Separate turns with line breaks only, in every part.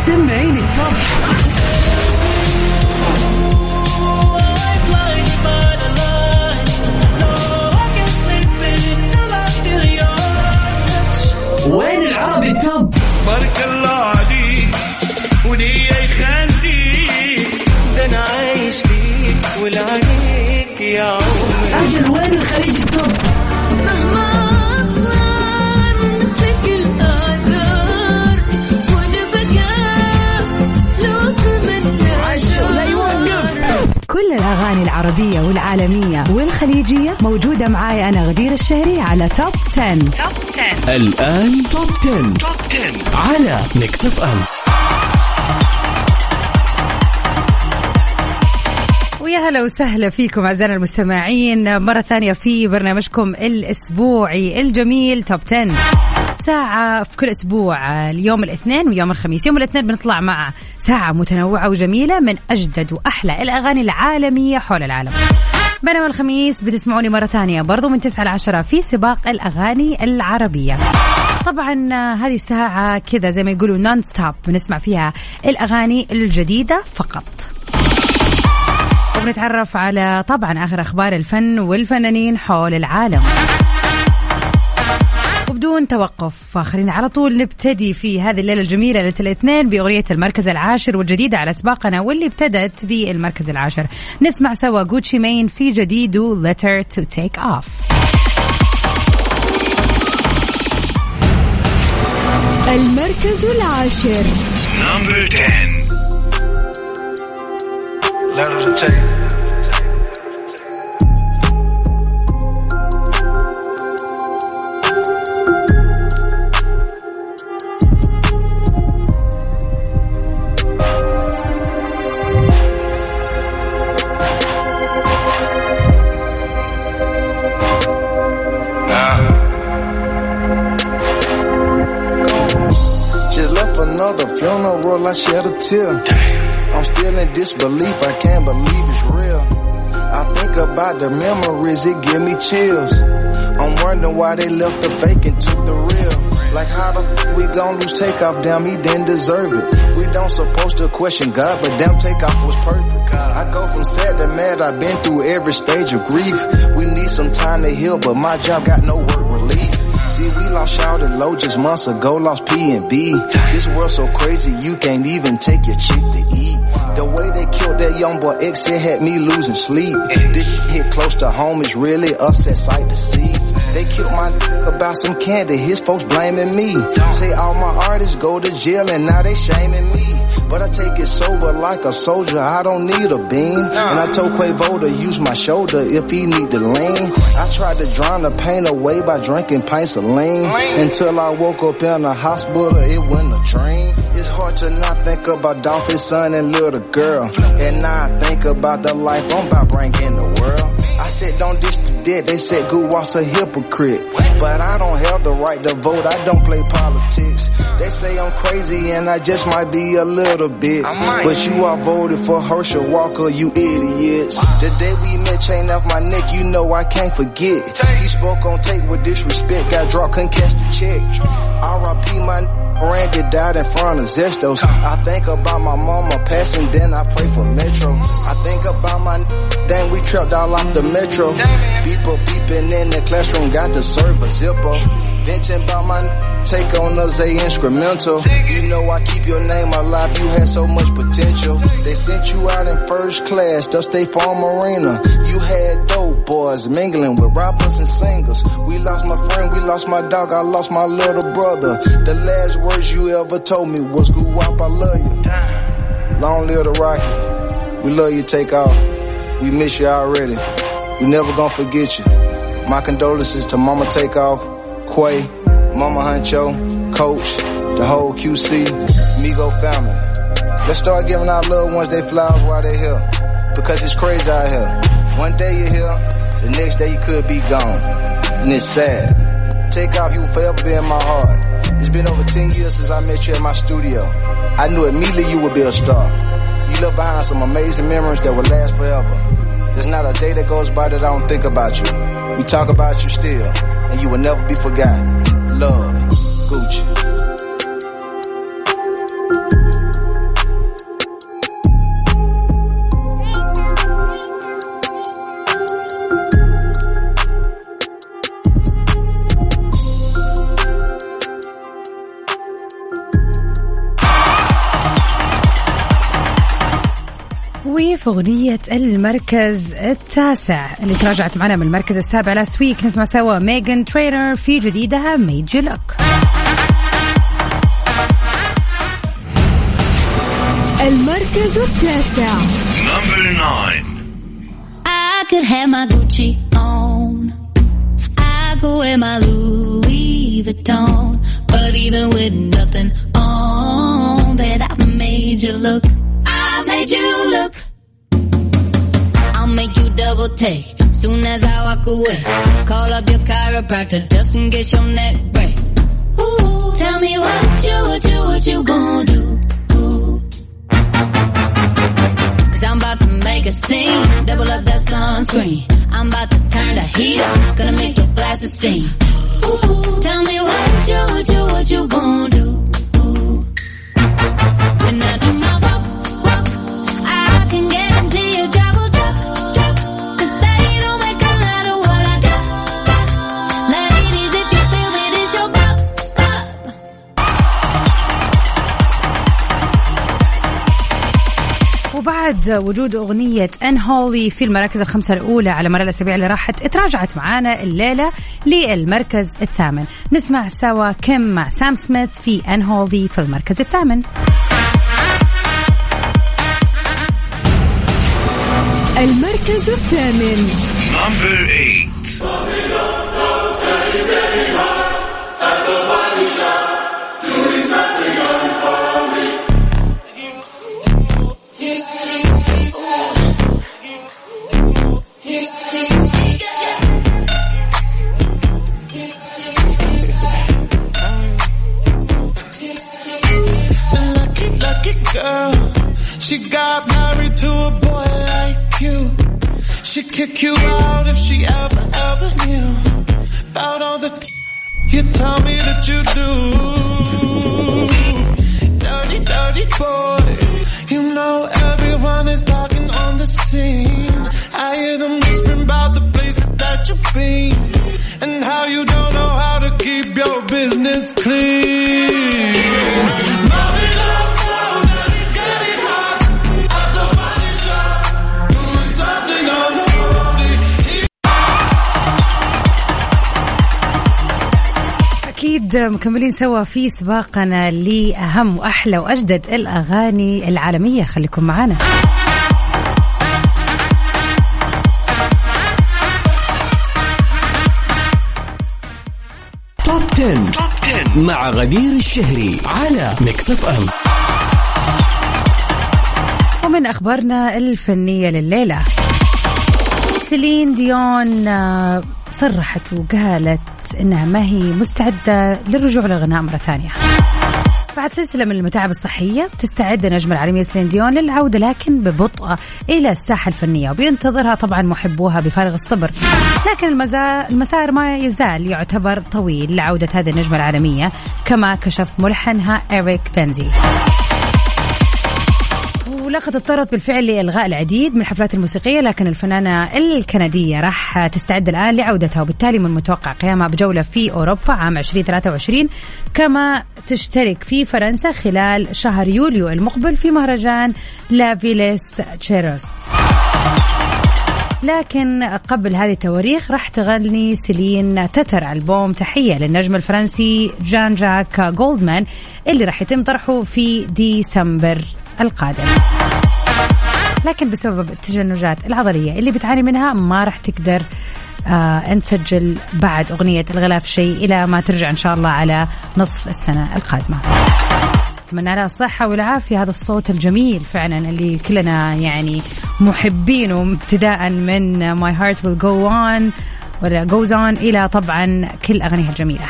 سمعيني التوب. وين العربي التوب؟
بارك الله عليك ولي يخليك، ده انا عايش فيك ولعنيك يا عمري.
أجل وين الخليج التوب؟
مهما أصغر نسلك الآثار ونبقى لوصل من
عشو لا يوقف.
كل الأغاني العربية والعالمية والخليجية موجودة معاي أنا غدير الشهري على توب 10.
الآن توب 10 على ميكس اف ام.
ويا هلا وسهلا فيكم أعزائنا المستمعين مرة ثانية في برنامجكم الأسبوعي الجميل توب 10. ساعة في كل أسبوع، اليوم الاثنين ويوم الخميس. يوم الاثنين بنطلع مع ساعة متنوعة وجميلة من أجدد وأحلى الأغاني العالمية حول العالم. بينما الخميس بتسمعوني مرة ثانية برضو من 9 ل 10 في سباق الأغاني العربية. طبعا هذه الساعة كذا زي ما يقولوا نون ستوب، بنسمع فيها الأغاني الجديدة فقط، وبنتعرف على طبعا آخر أخبار الفن والفنانين حول العالم. وبدون توقف خلينا على طول نبتدي في هذه الليلة الجميلة ليلة الاثنين بأغنية المركز العاشر والجديدة على سباقنا واللي ابتدت في المركز العاشر. نسمع سوا جوتشي مين في جديده Letter to Take Off.
المركز العاشر.
Number 10. Letter to Take.
Another funeral, I shed a tear. I'm still in disbelief, I can't believe it's real. I think about the memories, it give me chills. I'm wondering why they left the fake and took the real. Like how the f*** we gon' lose Takeoff, damn he didn't deserve it. We don't supposed to question God, but damn Takeoff was perfect. I go from sad to mad, I've been through every stage of grief. We need some time to heal, but my job got no work relief. See, we lost Shawty Low just months ago, lost P&B. This world so crazy, you can't even take your chick to eat. The way they killed that young boy X, it had me losing sleep. This hit close to home, it's really a sad sight to see. They killed my about some candy, his folks blaming me. Say all my artists go to jail and now they shaming me. But I take it sober like a soldier, I don't need a beam. And I told Quavo to use my shoulder if he need to lean. I tried to drown the pain away by drinking pints of lean. Until I woke up in the hospital, it went a dream. It's hard to not think about Dolphin's son and little girl. And now I think about the life I'm about bringing the world. I said don't dish the dead, they said Guwap's a hypocrite. But I don't have the right to vote, I don't play politics. They say I'm crazy and I just might be a little bit. But you all voted for Herschel Walker, you idiots. The day we met, chain off my neck, you know I can't forget. He spoke on tape with disrespect, got dropped, couldn't catch the check. R.I.P. my Randy died in front of Zestos. I think about my mama passing, then I pray for Metro. I think about my dang, we trapped all off the Metro. People beeping in the classroom, got to serve a Zippo. Venting about my take on us a instrumental. You know I keep your name alive, you had so much potential. They sent you out in first class to State Farm Arena. You had dope boys mingling with rappers and singers. We lost my friend, we lost my dog, I lost my little brother. The last words you ever told me was Guwap, I love you. Long live the Rocky. We love you, Takeoff. We miss you already. We never gonna forget you. My condolences to Mama Takeoff, Quay, Mama Huncho, Coach, the whole QC, Migo family. Let's start giving our loved ones their flowers while they're here. Because it's crazy out here. One day you're here, the next day you could be gone. And it's sad. Takeoff, you will forever be in my heart. It's been over 10 years since I met you at my studio. I knew immediately you would be a star. You left behind some amazing memories that will last forever. There's not a day that goes by that I don't think about you. We talk about you still, and you will never be forgotten. Love, Gucci.
وفي أغنية المركز التاسع اللي تراجعت معنا من المركز السابع لاست ويك نسمع سوا ميغان ترينر في جديدها ميد يو لوك.
المركز التاسع.
Number 9.
I could have my Gucci on, I could wear my Louis Vuitton, but even with nothing on, bet I made you look. I made you look. I'll make you double take soon as I walk away. Call up your chiropractor just in case your neck break. Ooh, tell me what you gonna do? I'm about to make a scene, double up that sunscreen. I'm about to turn the heat up, gonna make your glasses steam. Ooh, tell me what you gonna do? When I do my walk, I can guarantee your job will drop, cause they don't make a lot of what I do. Ladies, if you feel me, this your pop.
وبعد وجود أغنية Unholy في المراكز الخمسة الأولى على مر الأسابيع اللي راحت اتراجعت معانا الليلة للمركز الثامن. نسمع سوا كيم مع سام سميث في Unholy في المركز الثامن.
المركز الثامن.
Number 8.
She got married to a boy like you. She'd kick you out if she ever knew about all the you tell me that you do. Dirty, dirty boy. You know everyone is talking on the scene. I hear them whispering about the places that you've been and how you don't know how to keep your business clean.
أكيد مكملين سوا في سباقنا لأهم وأحلى وأجدد الأغاني العالمية. خليكم معنا.
توب 10 مع غدير الشهري على ميكس اف ام.
ومن أخبارنا الفنية لليلة، سيلين ديون صرحت وقالت إنها ما هي مستعدة للرجوع للغناء مرة ثانية بعد سلسلة من المتاعب الصحية. تستعد النجمة العالمية سيلين ديون للعودة لكن ببطء إلى الساحة الفنية، وبينتظرها طبعا محبوها بفارغ الصبر، لكن المسار ما يزال يعتبر طويل لعودة هذه النجمة العالمية كما كشف ملحنها إريك بنزي. ولقد اضطرت بالفعل لإلغاء العديد من الحفلات الموسيقية، لكن الفنانة الكندية راح تستعد الآن لعودتها، وبالتالي من المتوقع قيامها بجولة في أوروبا عام 2023، كما تشترك في فرنسا خلال شهر يوليو المقبل في مهرجان لا فيليس تشيروس. لكن قبل هذه التواريخ راح تغني سيلين تتر ألبوم تحية للنجم الفرنسي جان جاك جولدمان اللي راح يتم طرحه في ديسمبر القادم، لكن بسبب التشنجات العضلية اللي بتعاني منها ما راح تقدر أن تسجل بعد أغنية الغلاف شيء إلى ما ترجع إن شاء الله على نصف السنة القادمة. أتمنى لها الصحة والعافية، هذا الصوت الجميل فعلا اللي كلنا يعني محبينه، ابتداء من My Heart Will Go On ولا Goes On إلى طبعا كل أغانيها الجميلة.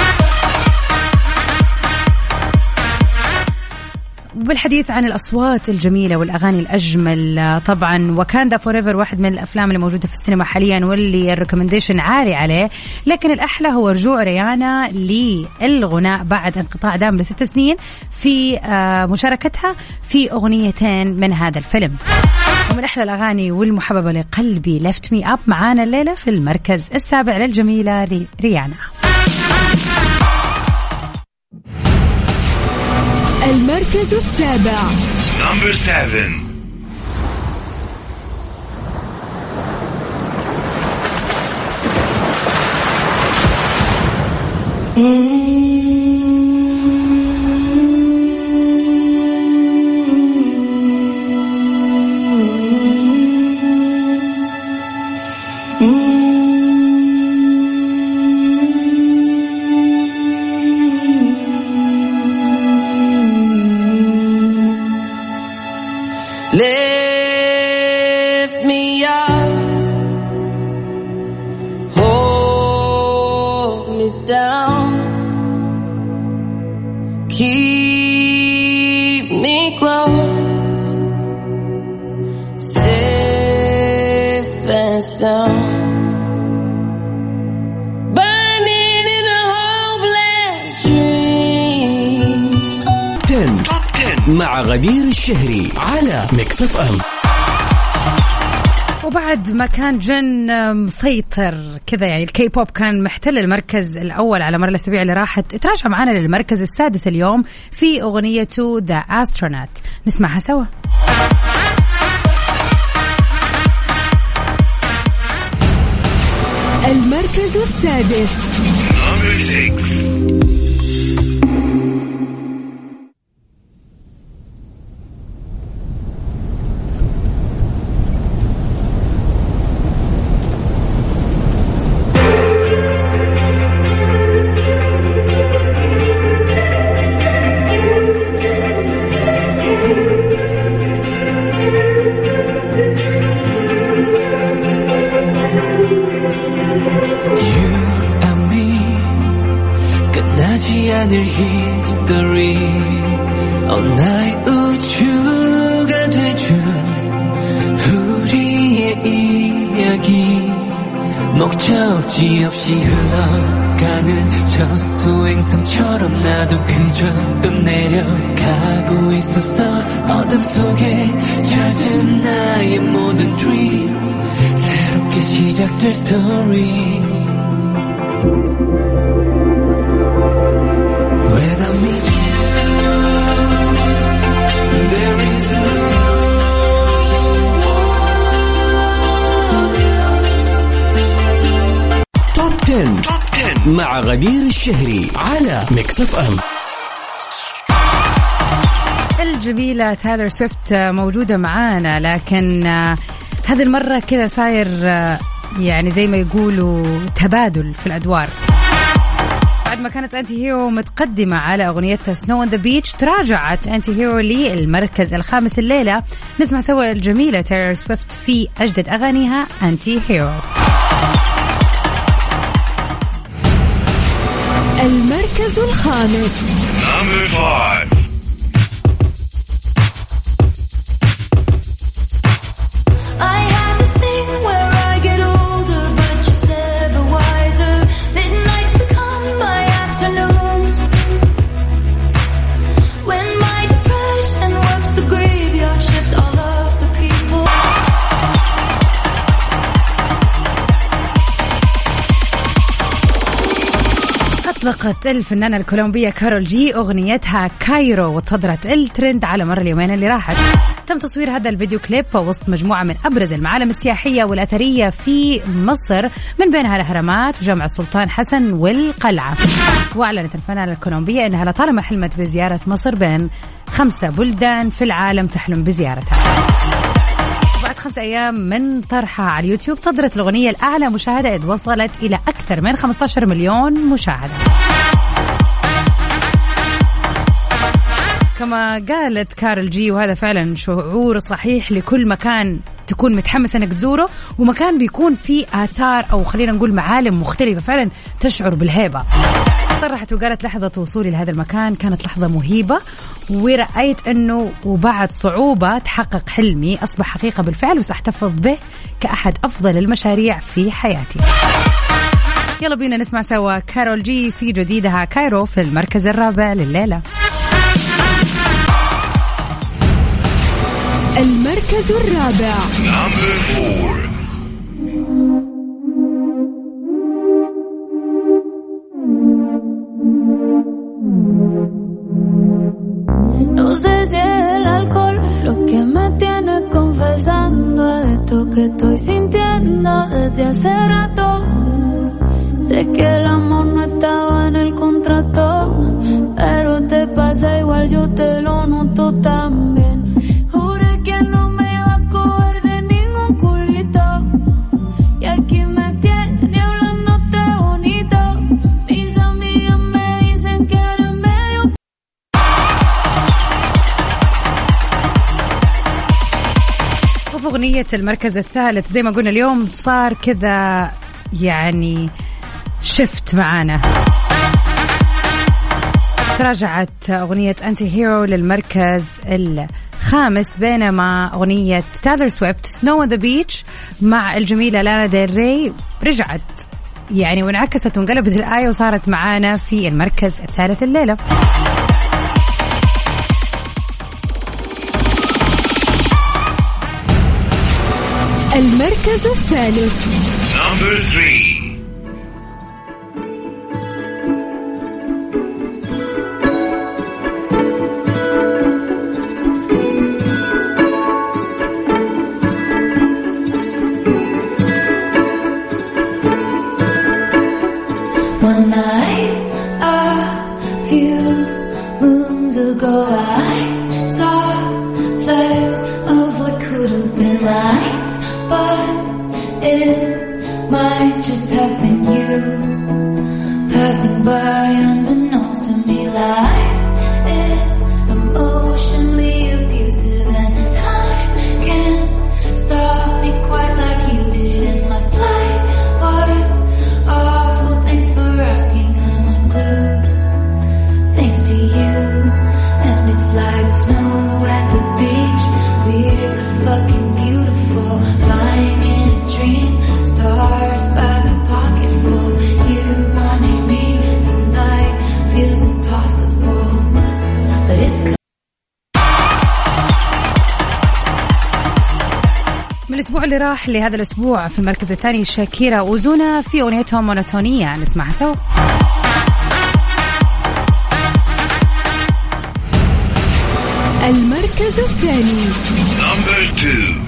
بالحديث عن الأصوات الجميلة والأغاني الأجمل، طبعا وكاندا فوريفر واحد من الأفلام اللي موجودة في السينما حاليا واللي الريكومنديشن عالي عليه، لكن الأحلى هو رجوع ريانا للغناء بعد انقطاع دام ل6 سنين في مشاركتها في أغنيتين من هذا الفيلم. ومن أحلى الأغاني والمحببة لقلبي Lift Me Up معانا الليلة في المركز السابع للجميلة ريانا.
المركز السابع.
Number 7.
Lift me up, hold me down, keep me close, safe and sound. Burning in a hopeless dream.
10 مع غدير الشهري على ميكس اف ام.
وبعد ما كان جن مسيطر كذا، يعني الكي بوب كان محتل المركز الأول على مر الأسابيع اللي راحت، تراجع معنا للمركز السادس اليوم في أغنيته The Astronaut. نسمعها سوا.
المركز السادس.
Number 6.
history 나의 우주가 되준 우리의 이야기 목적지 없이 흘러가는 저 수행선처럼 나도 그저 떠내려가고 있었어 어둠 속에 젖은 나의 모든 dream 새롭게 시작될 story When I meet you, there is no one else.
توب 10 مع غدير الشهري على ميكس اف ام.
الجميلة تايلر سويفت موجودة معانا، لكن هذه المرة كذا صاير يعني زي ما يقولوا تبادل في الأدوار. بعد ما كانت أنتي هيرو متقدمة على أغنيتها سنو أون ذا بيتش، تراجعت أنتي هيرو للمركز الخامس الليلة. نسمع سوا الجميلة تايلر سويفت في أجدد أغانيها أنتي هيرو.
المركز الخامس.
Number 5.
أطلقت الفنانة الكولومبية كارول جي أغنيتها كايرو وتصدرت الترند على مر اليومين اللي راحت. تم تصوير هذا الفيديو كليب وسط مجموعة من أبرز المعالم السياحية والأثرية في مصر، من بينها الأهرامات وجامع السلطان حسن والقلعة. وأعلنت الفنانة الكولومبية أنها لطالما حلمت بزيارة مصر بين 5 بلدان في العالم تحلم بزيارتها. بعد 5 أيام من طرحها على اليوتيوب صدرت الأغنية الأعلى مشاهدة، إذ وصلت إلى أكثر من 15 مليون مشاهدة. كما قالت كارول جي، وهذا فعلا شعور صحيح لكل مكان تكون متحمس أنك تزوره، ومكان بيكون فيه آثار أو خلينا نقول معالم مختلفة فعلا تشعر بالهيبة. صرحت وقالت لحظة وصولي لهذا المكان كانت لحظة مهيبة، ورأيت أنه وبعد صعوبة تحقق حلمي أصبح حقيقة بالفعل، وسأحتفظ به كأحد أفضل المشاريع في حياتي. يلا بينا نسمع سوا كارول جي في جديدها كايرو في المركز الرابع لليلة.
المركز الرابع.
Number 4.
No sé si es el alcohol lo que me tiene confesando esto que estoy sintiendo desde hace rato. Sé que el amor no estaba en el contrato, pero te pasa igual, yo te lo noto también. Juré que no me iba a coger de ningún culito, y aquí me tiene hablándote bonito. Mis amigas me dicen que eres medio.
وفي أغنية المركز الثالث زي ما قلنا اليوم صار كذا يعني شفت معانا. تراجعت أغنية أنتي هيرو للمركز الخامس، بينما أغنية تايلر سويفت سنو on the beach مع الجميلة لانا ديل ري رجعت يعني وانعكست وانقلبت الآية وصارت معانا في المركز الثالث الليلة.
المركز الثالث.
Number 3.
One night, a few moons ago, I saw flecks of what could have been lights, but it might just have been you passing by unbeknownst to me. Life is emotionally abusive, and time can't stop me quite like you did. And my flight was awful. Thanks for asking. I'm unglued thanks to you, and it's like snow at the beach. Weird but fucking beautiful, flying in a dream. Stars by the pocketful. You wanting me tonight feels impossible, but it's.
من الأسبوع اللي راح لهذا الأسبوع في المركز الثاني شاكيرا وزونا في أغنيتهم مونوتونية، نسمعها سوا.
المركز الثاني.
Number 2.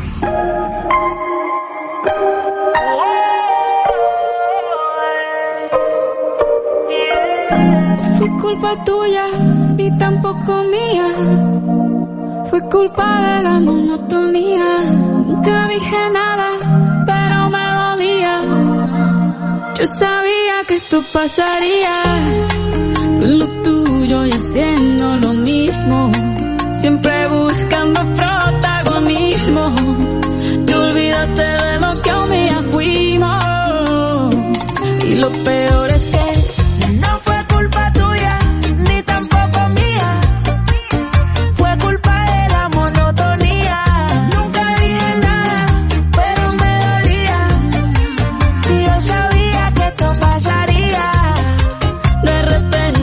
Fue culpa tuya y tampoco mía. Fue culpa de la monotonía. Nunca dije nada, pero me dolía. Yo sabía que esto pasaría. Con lo tuyo y haciendo lo mismo. Siempre buscando protagonismo. Te olvidaste de lo que un día fuimos. Y lo peor es que no fue culpa tuya, ni tampoco mía. Fue culpa de la monotonía. Nunca dije nada, pero me dolía. Y yo sabía que esto pasaría. De repente.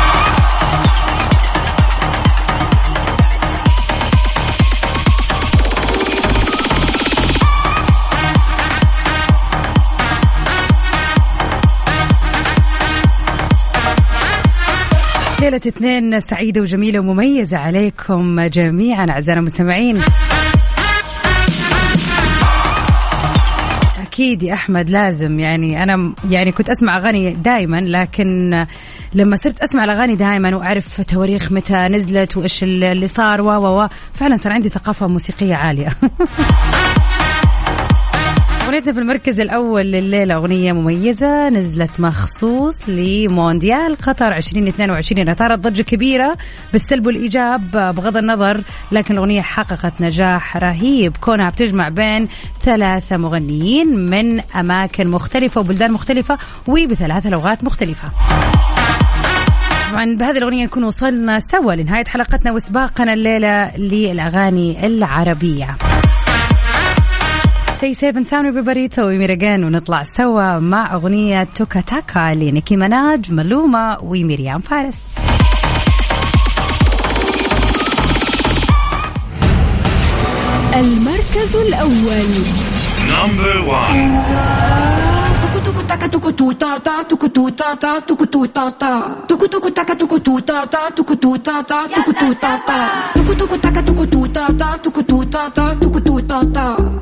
ليلة اثنين سعيدة وجميلة ومميزة عليكم جميعا أعزائنا المستمعين. أكيد يا أحمد لازم يعني أنا يعني كنت أسمع أغاني دائما، لكن لما صرت أسمع الأغاني دائما وأعرف تواريخ متى نزلت وإيش اللي صار فعلا صار عندي ثقافة موسيقية عالية. أغنيتنا في المركز الأول لليلة أغنية مميزة نزلت مخصوص لمونديال قطر 2022. أثارت ضجة كبيرة بالسلب والإيجاب بغض النظر، لكن الأغنية حققت نجاح رهيب كونها بتجمع بين 3 مغنيين من أماكن مختلفة وبلدان مختلفة وب3 لغات مختلفة. طبعا بهذه الأغنية نكون وصلنا سوا لنهاية حلقتنا وسباقنا الليلة للأغاني العربية. Stay safe and sound everybody. توي ميرجان ونطلع سوا مع أغنية توكا تاكا لنيكي مناج ملومة وميريام فارس.
المركز الأول.
Number 1.